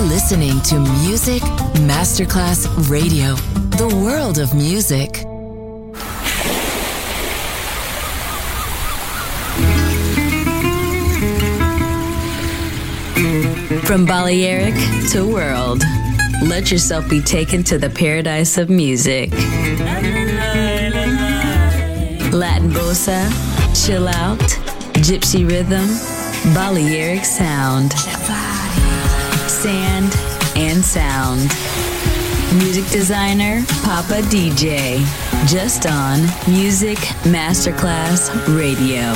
listening to Music Masterclass Radio, the world of music. From Balearic to world, let yourself be taken to the paradise of music. Latin bossa, chill out, gypsy rhythm, Balearic sound, sand and sound. Music designer, Papa DJ, just on Music Masterclass Radio.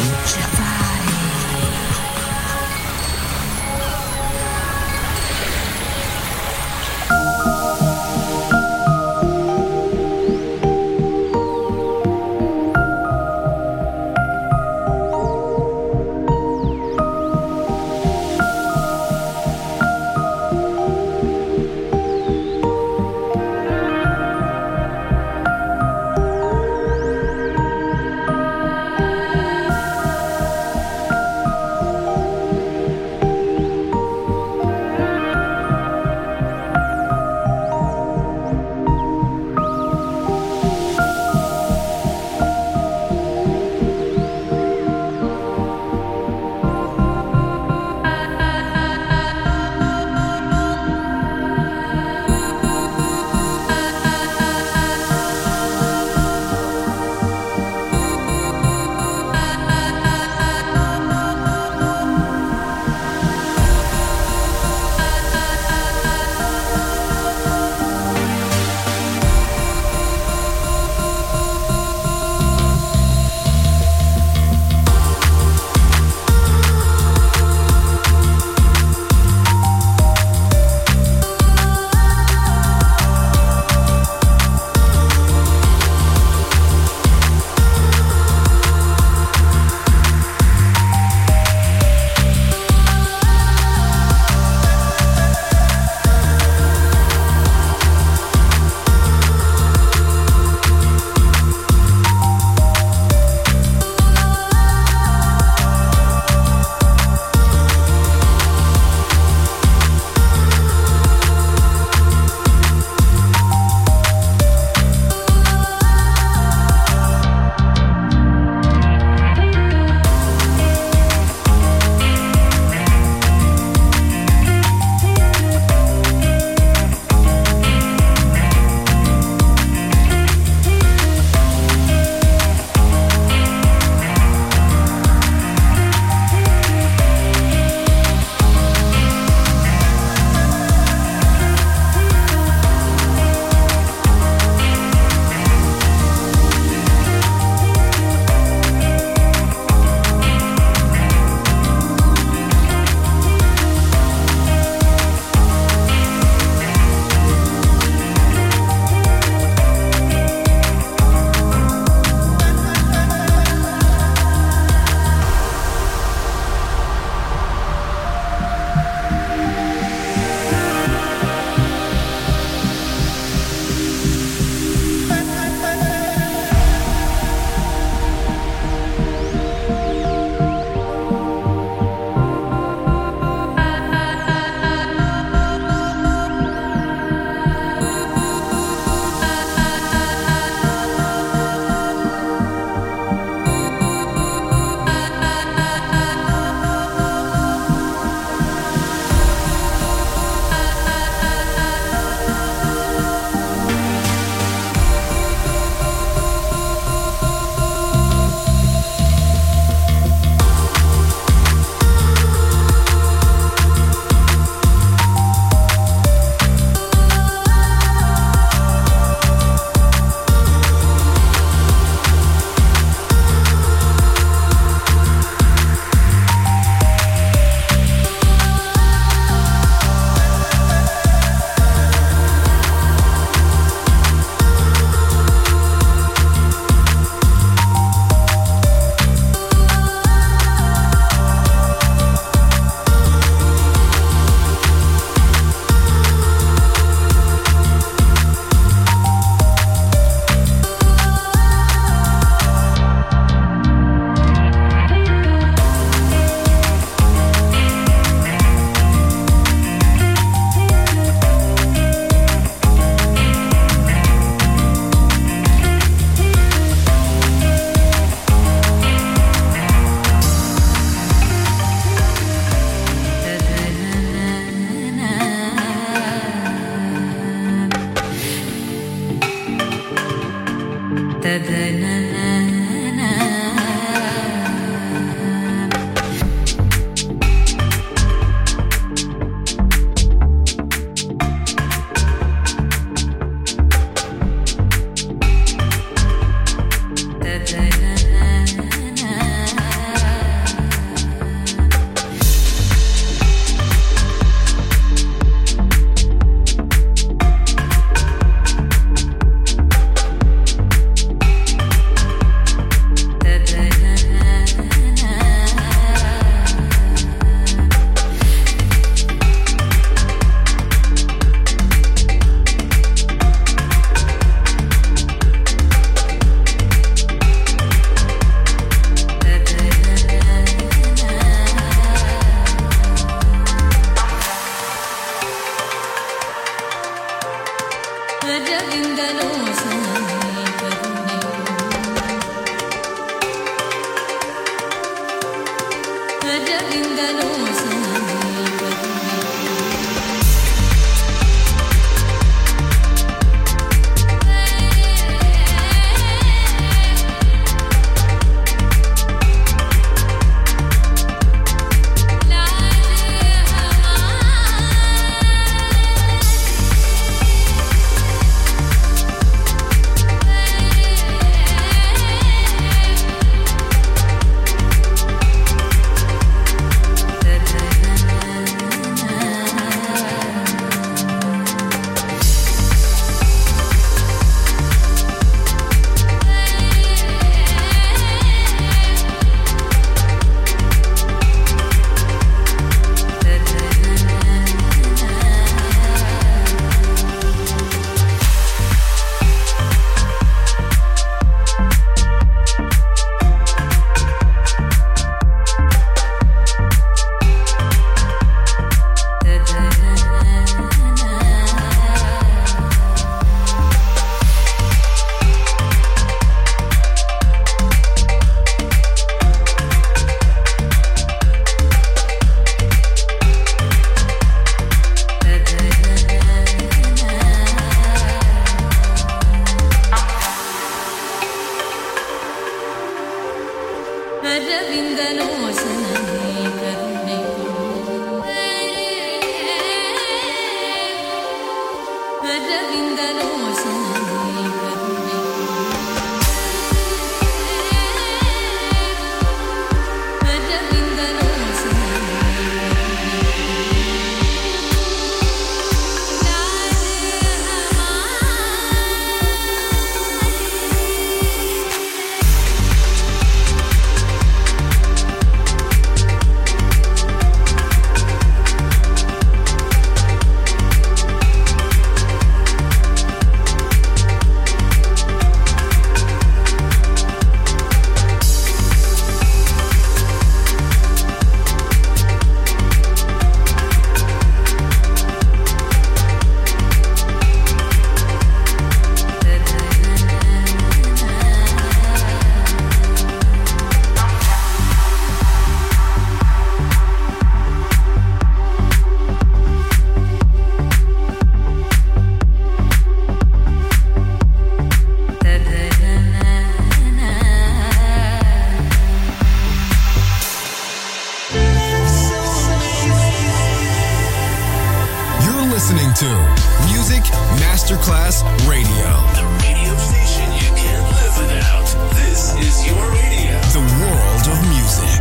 Masterclass Radio. The radio station you can't live without. This is your radio. The world of music.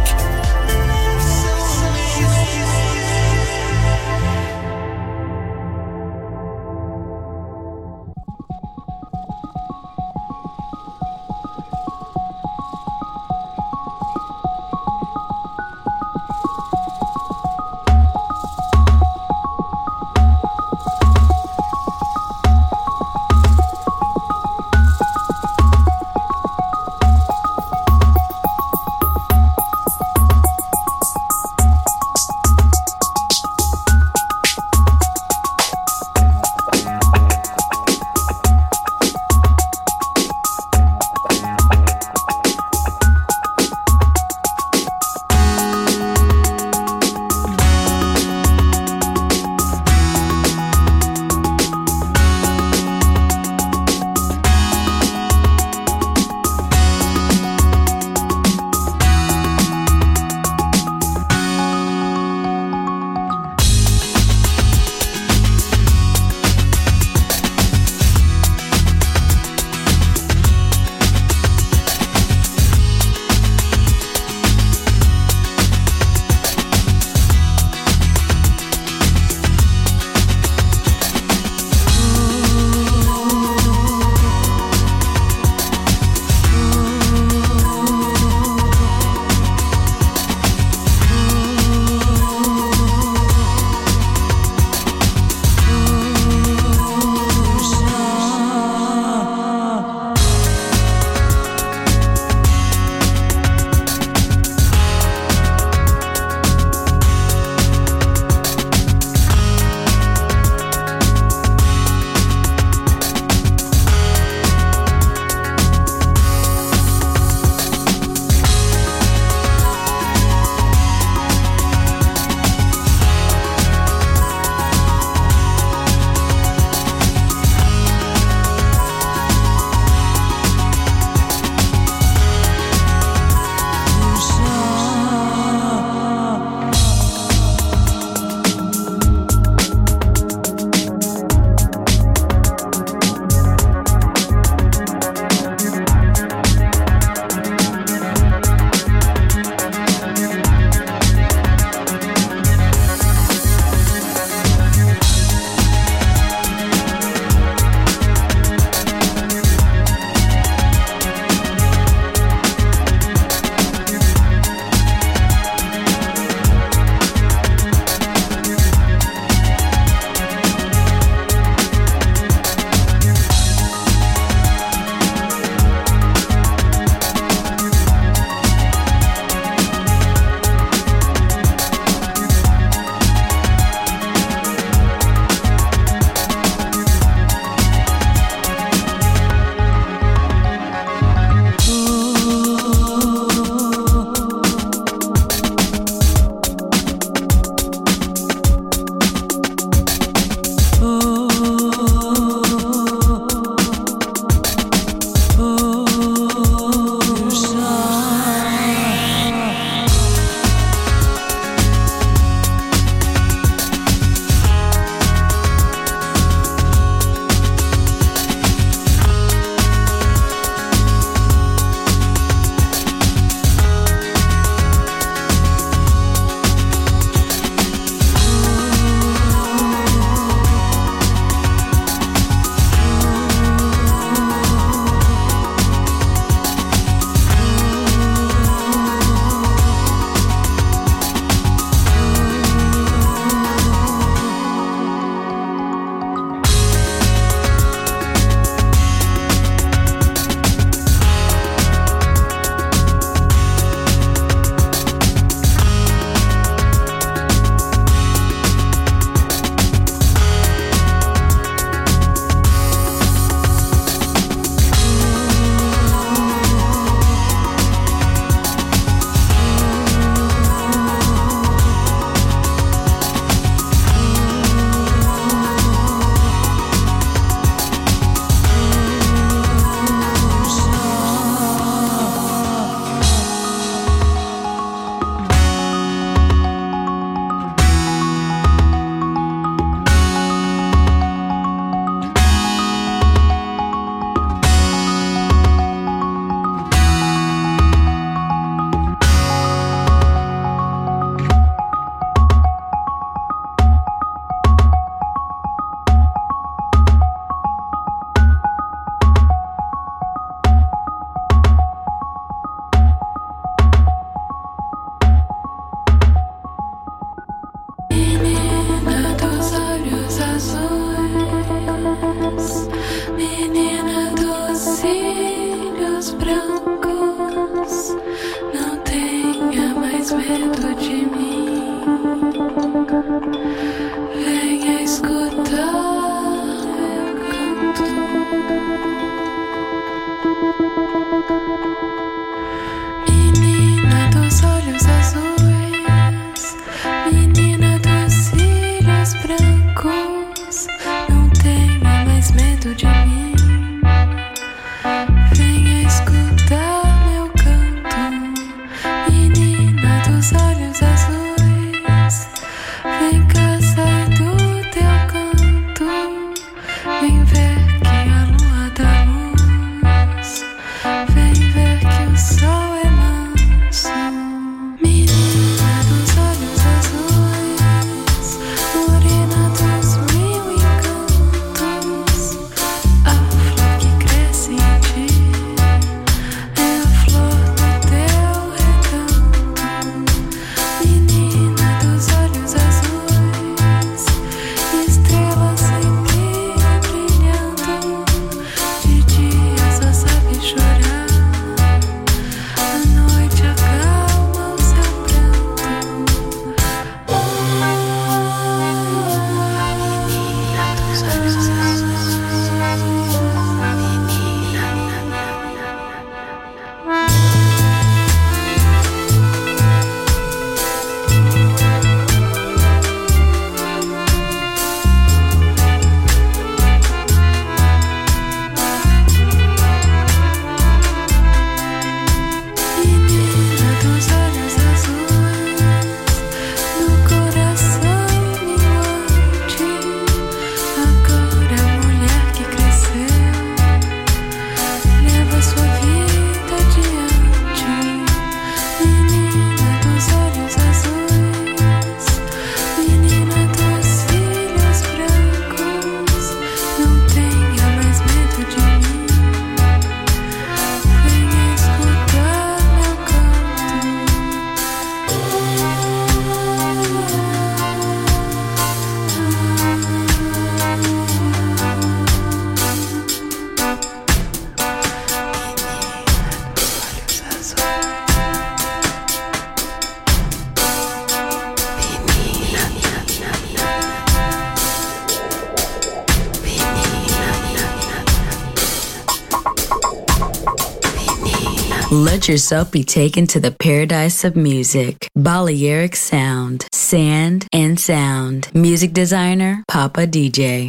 Let yourself be taken to the paradise of music. Balearic Sound, Sand and Sound. Music designer, Papa DJ.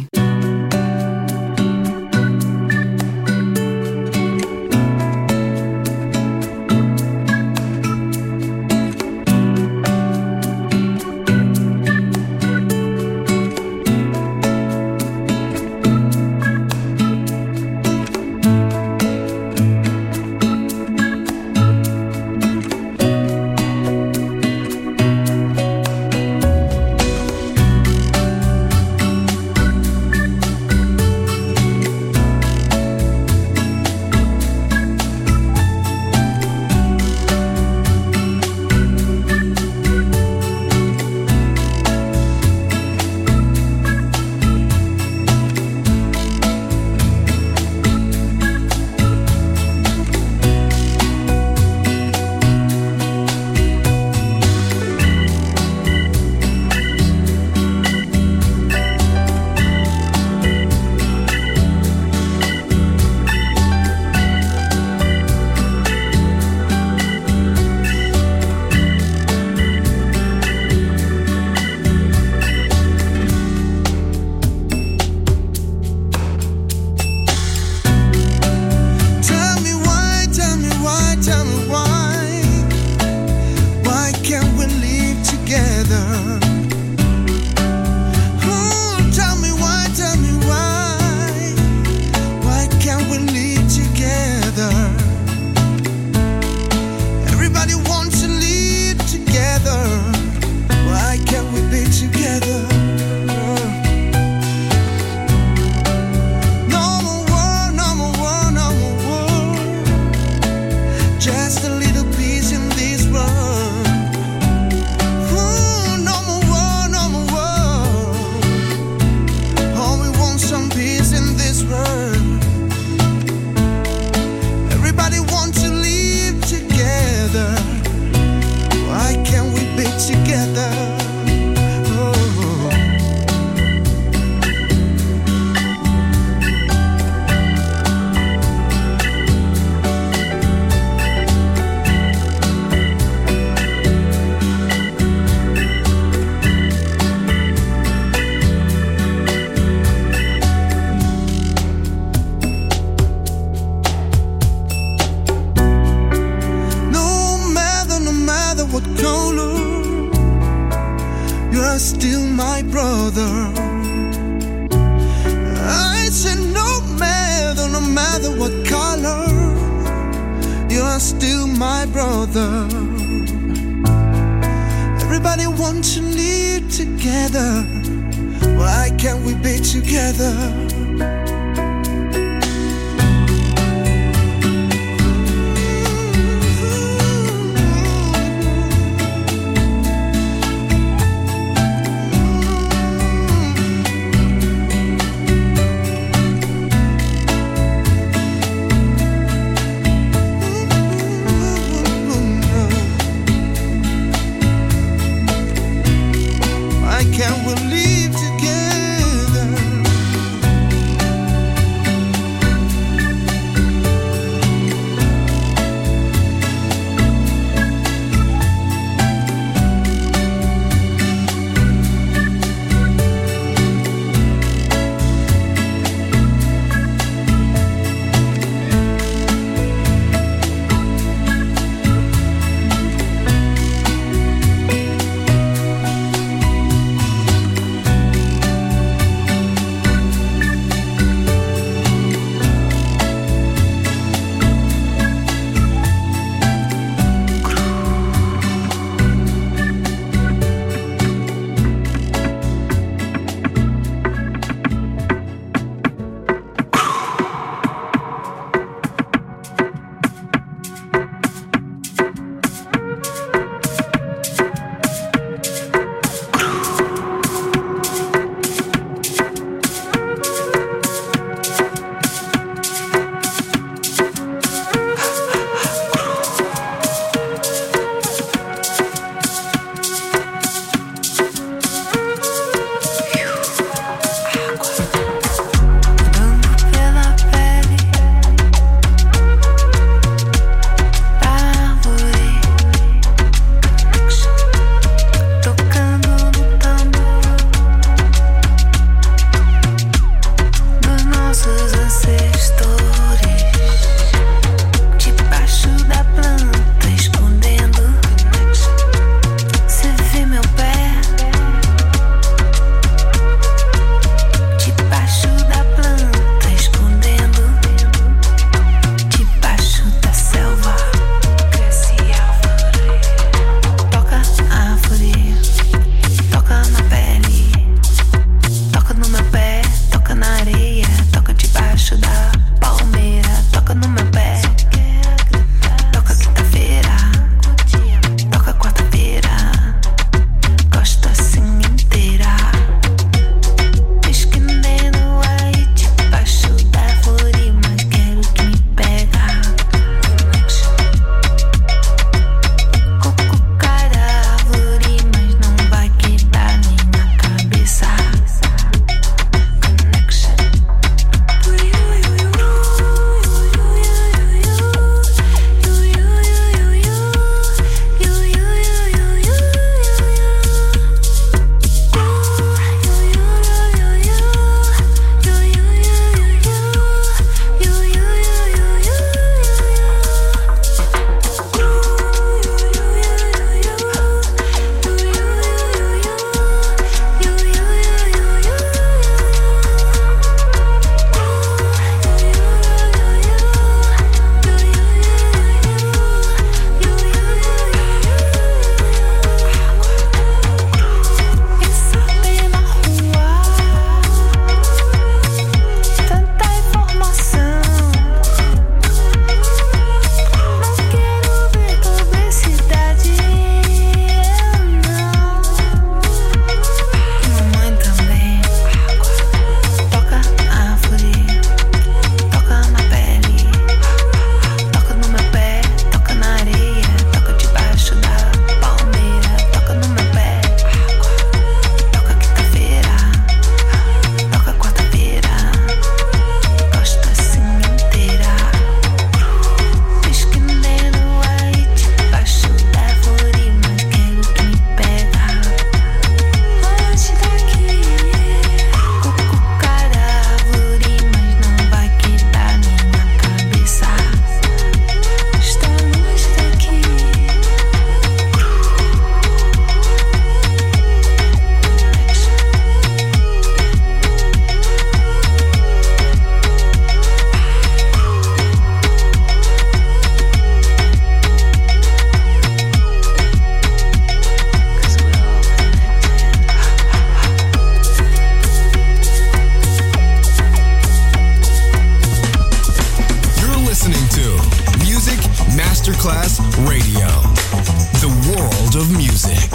Class Radio. The world of music.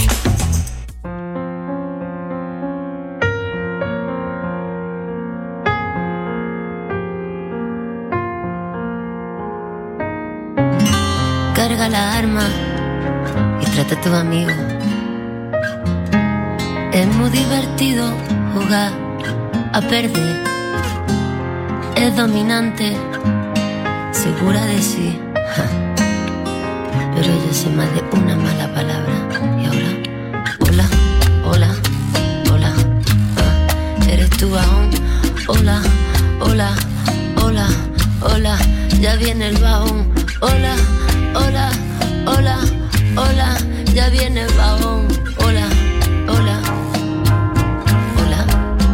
Carga la arma y trata a tu amigo. Es muy divertido jugar a perder. Es dominante, segura de sí. Pero yo sé más de una mala palabra. Y ahora, hola, hola, hola. ¿Eres tú aún? Hola, hola, hola, hola. Ya viene el bajón. Hola, hola, hola, hola. Ya viene el bajón. Hola, hola, hola.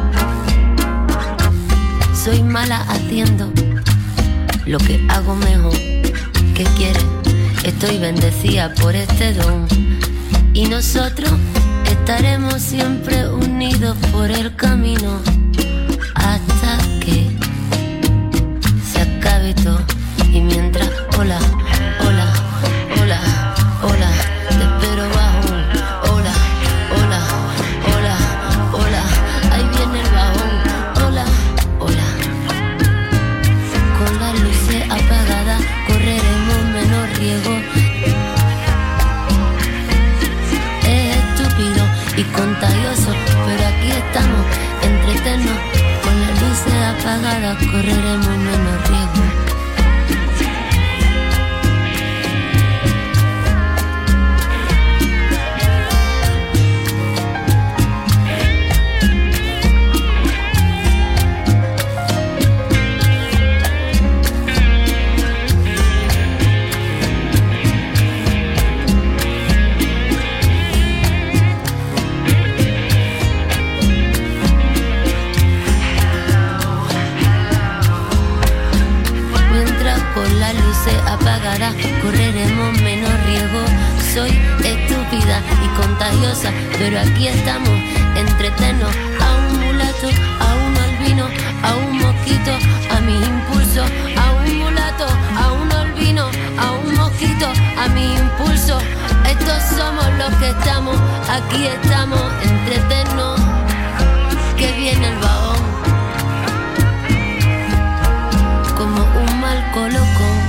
Soy mala haciendo lo que hago mejor. ¿Qué quieres? Estoy bendecida por este don. Y nosotros estaremos siempre unidos por el camino hasta que se acabe todo. Y mientras, hola, hola, hola, hola, te espero bajón. Hola, hola, hola, hola, ahí viene el bajón. Hola, hola. Con las luces apagadas correremos menos riesgo. Es estúpido y contagioso, pero aquí estamos, entretenos. Con las luces apagadas correremos menos riesgo. Apagará, correremos menos riesgo. Soy estúpida y contagiosa, pero aquí estamos, entretenos. A un mulato, a un albino, a un mosquito, a mis impulsos. A un mulato, a un albino, a un mosquito, a mis impulsos. Estos somos los que estamos, aquí estamos, entretenos. Que viene el bajón, como un mal colocón.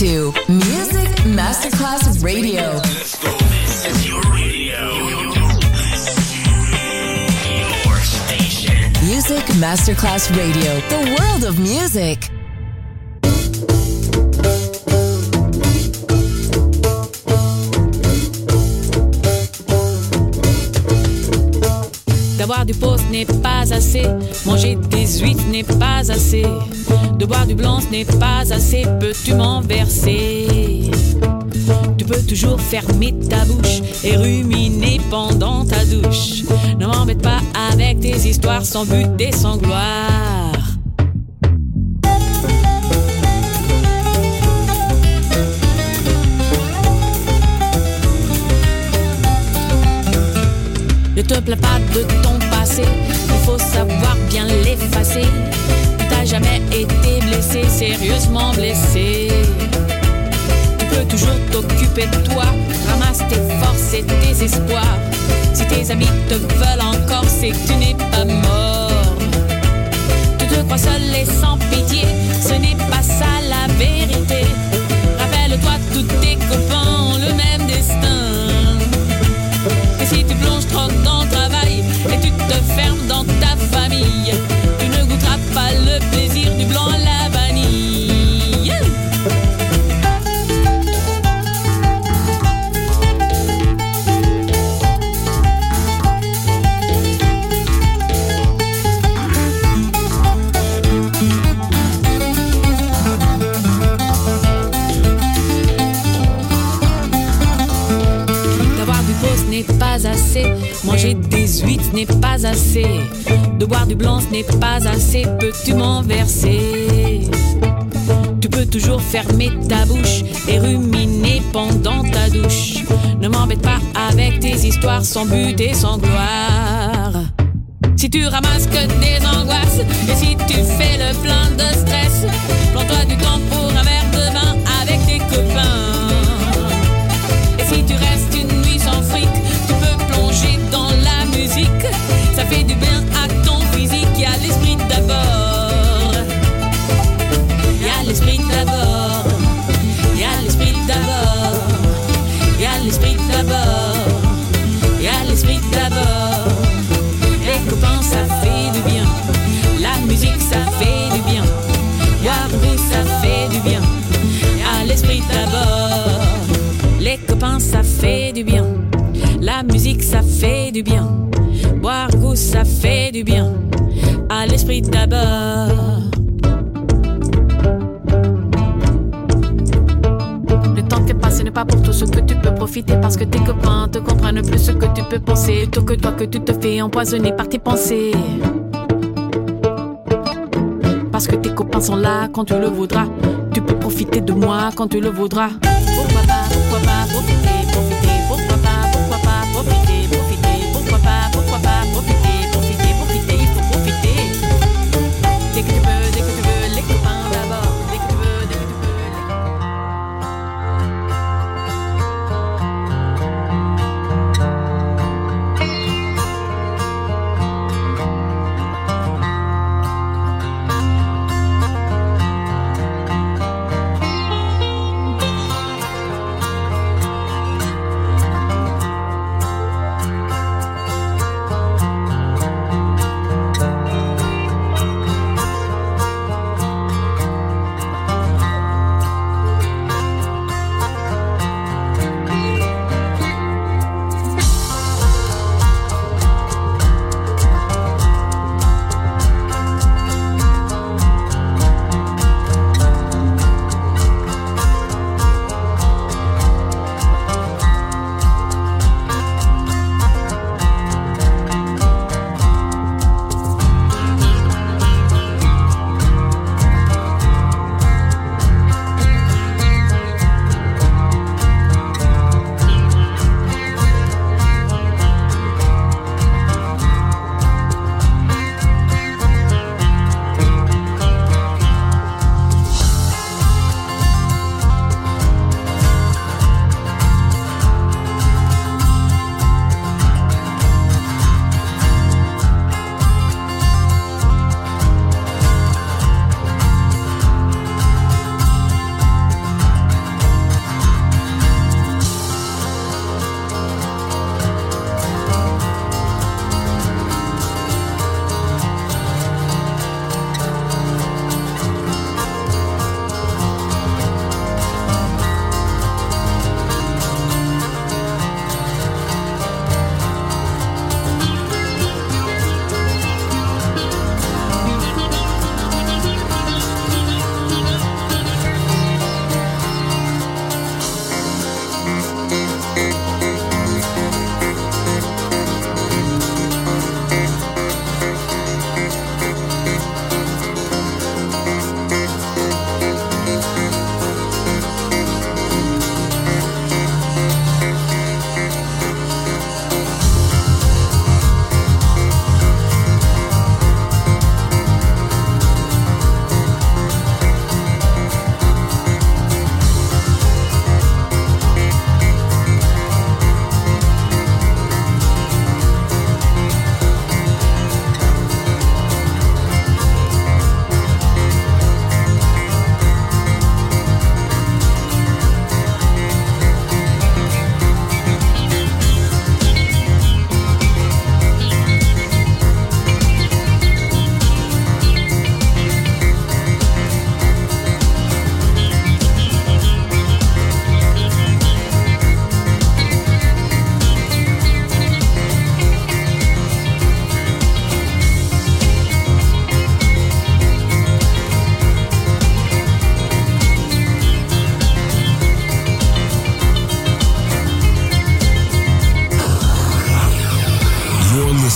to Music Masterclass Radio. Let's go. This is your radio. Your station. Music Masterclass Radio. The world of music. D'avoir du pot, ce n'est pas assez. Manger des huîtres n'est pas assez. De boire du blanc, ce n'est pas assez. Peux-tu m'en verser? Tu peux toujours fermer ta bouche et ruminer pendant ta douche. Ne m'embête pas avec tes histoires sans but et sans gloire. Ne te plains pas de ton passé, il faut savoir bien l'effacer. Tu t'as jamais été blessé, sérieusement blessé. Tu peux toujours t'occuper de toi, ramasse tes forces et tes espoirs. Si tes amis te veulent encore, c'est que tu n'es pas mort. Tu te crois seul et sans pitié, ce n'est pas ça la vérité. Rappelle-toi, tous tes copains ont le même destin. Et si tu plonges trop dans le travail et tu te fermes dans ta famille, tu ne goûteras pas le plaisir du blanc à la vanille. N'est pas assez, manger des huîtres n'est pas assez, de boire du blanc ce n'est pas assez, peux-tu m'en verser? Tu peux toujours fermer ta bouche et ruminer pendant ta douche. Ne m'embête pas avec tes histoires sans but et sans gloire. Si tu ramasses que des angoisses et si tu fais le plein de stress, prends-toi du temps pour un verre de vin avec tes copains. Et si tu restes une nuit sans fric, tu peux plonger dans la musique. Ça fait du bien à ton physique. Y a l'esprit d'abord. Y a l'esprit d'abord. Y a l'esprit d'abord. Y a l'esprit d'abord. Y a l'esprit d'abord. Les copains ça fait du bien. La musique ça fait du bien. Boire vous ça fait du bien. Y a l'esprit d'abord. Les copains ça fait du bien. La musique ça fait du bien. Boire goût ça fait du bien. À l'esprit d'abord. Le temps qui est passé n'est pas pour tout ce que tu peux profiter, parce que tes copains te comprennent plus ce que tu peux penser, plutôt que toi que tu te fais empoisonner par tes pensées. Parce que tes copains sont là quand tu le voudras. Tu peux profiter de moi quand tu le voudras. Pourquoi pas profiter, profiter. Pourquoi pas profiter, profiter. Pourquoi pas profiter, profiter, profiter. Il faut profiter. Dès que tu veux, les copains d'abord. Dès que tu veux, les copains.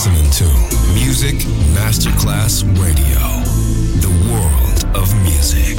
listening to Music Masterclass Radio, the world of music.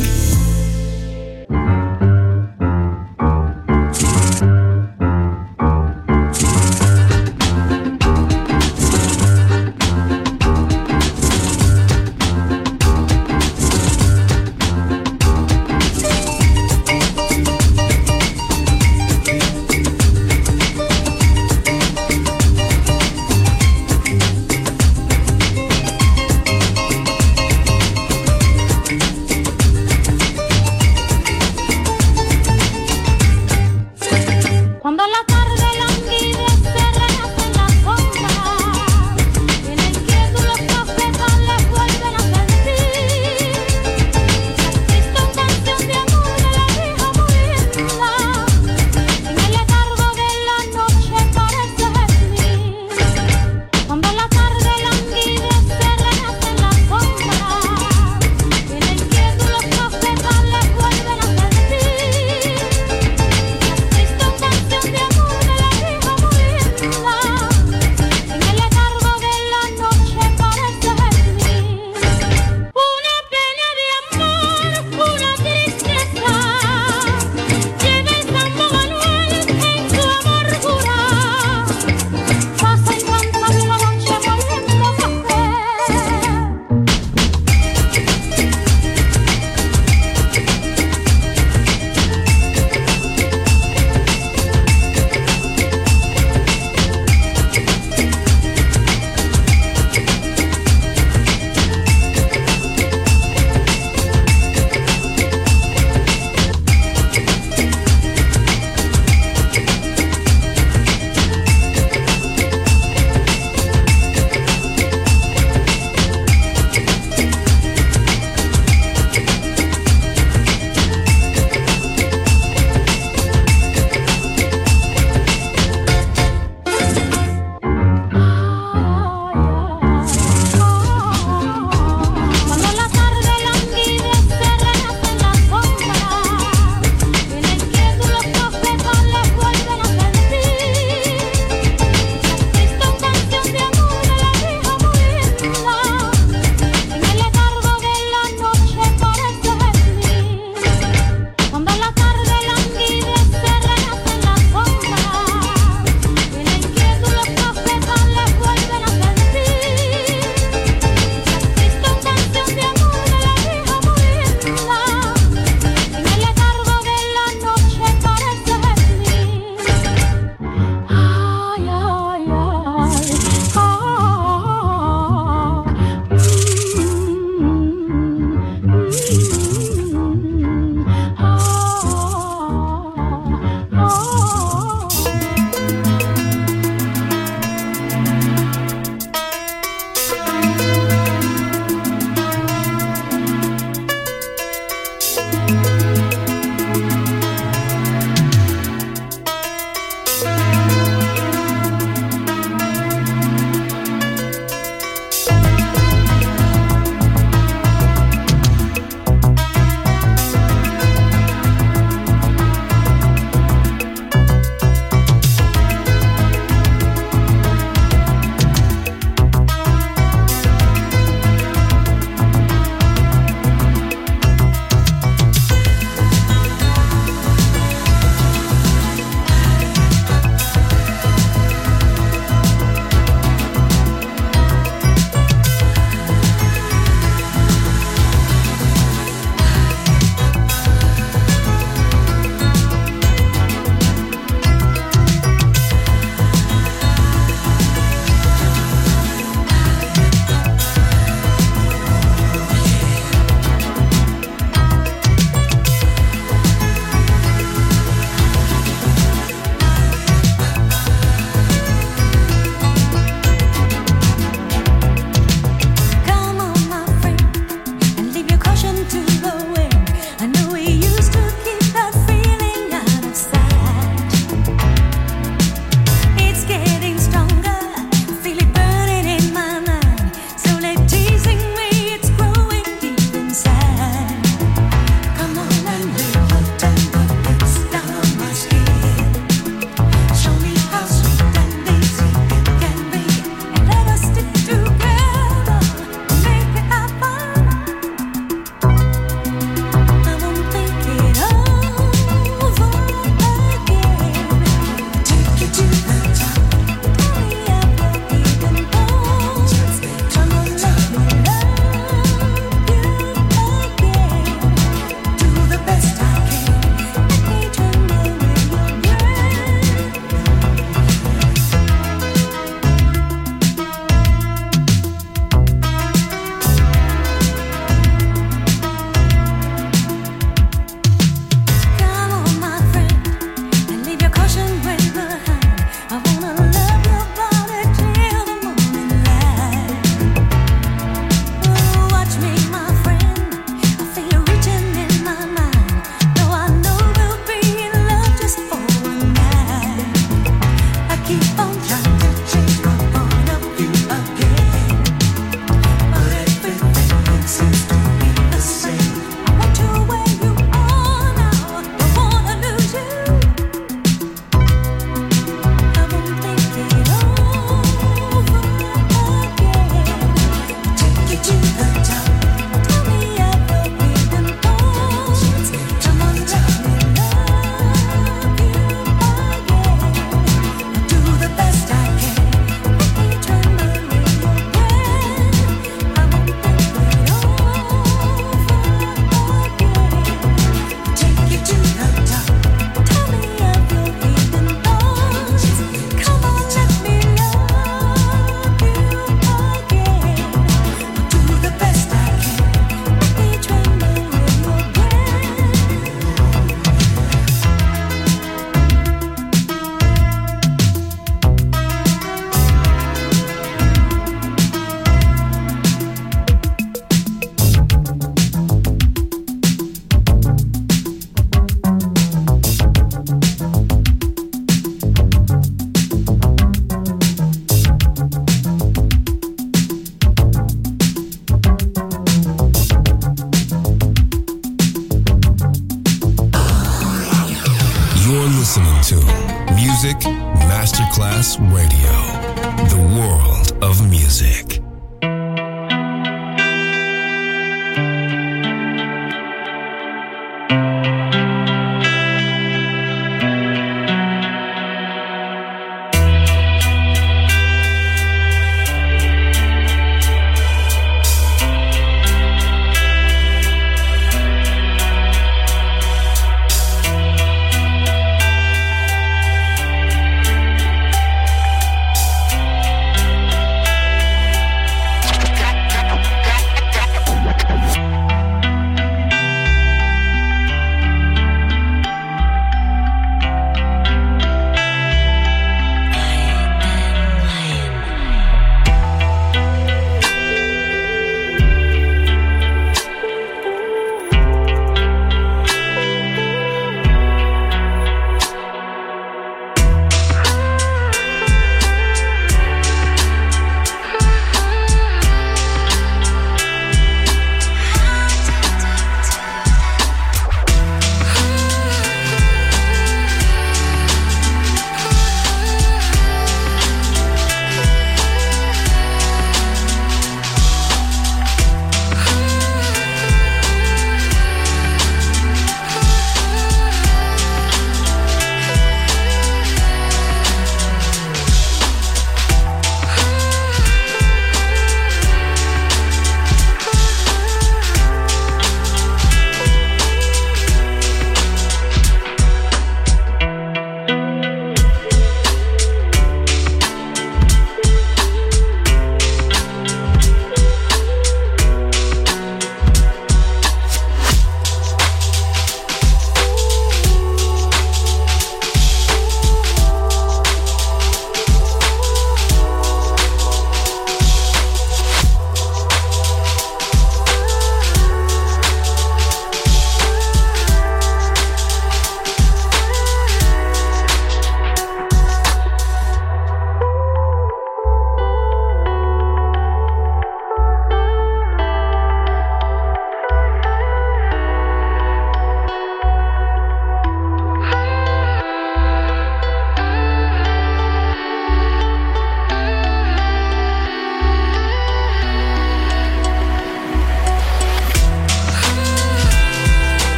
Class Radio, the world of music.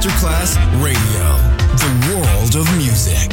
Masterclass Radio, the world of music.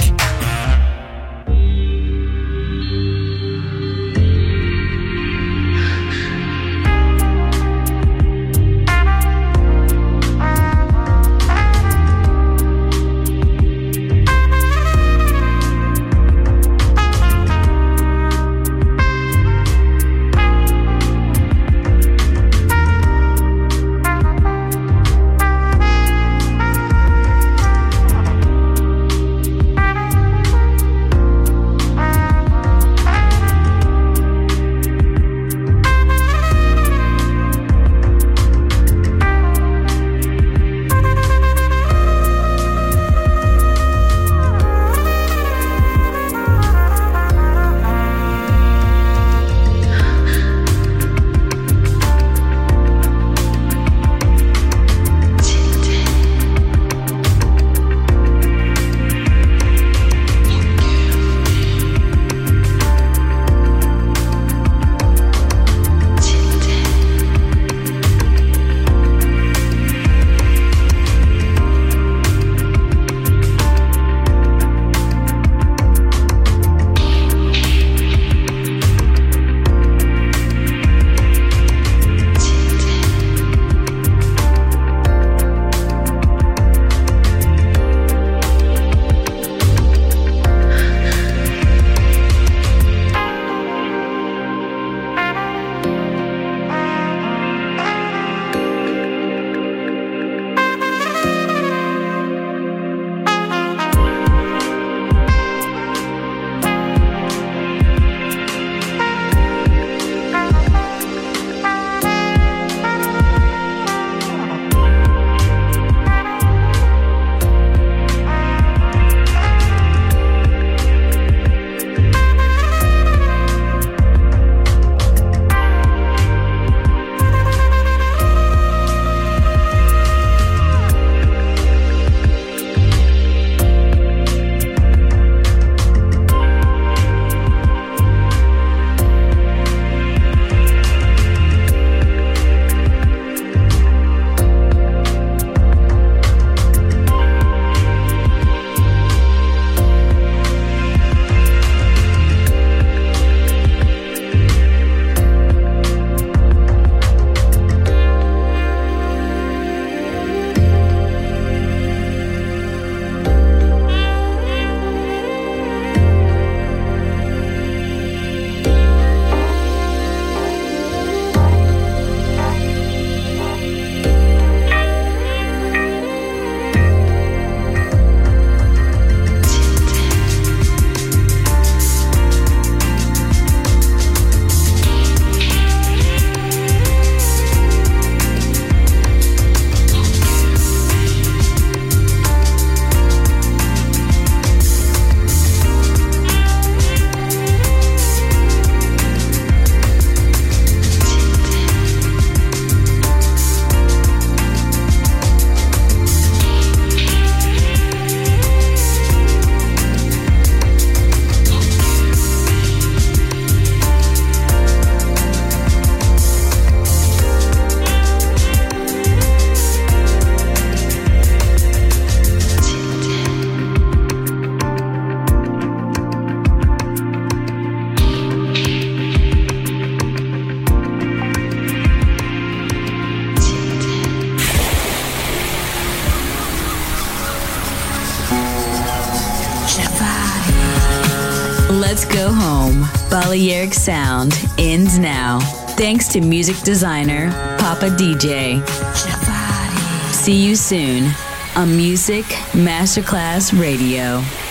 Let's go home. Balearic Sound ends now. Thanks to music designer Papa DJ. See you soon on Music Masterclass Radio.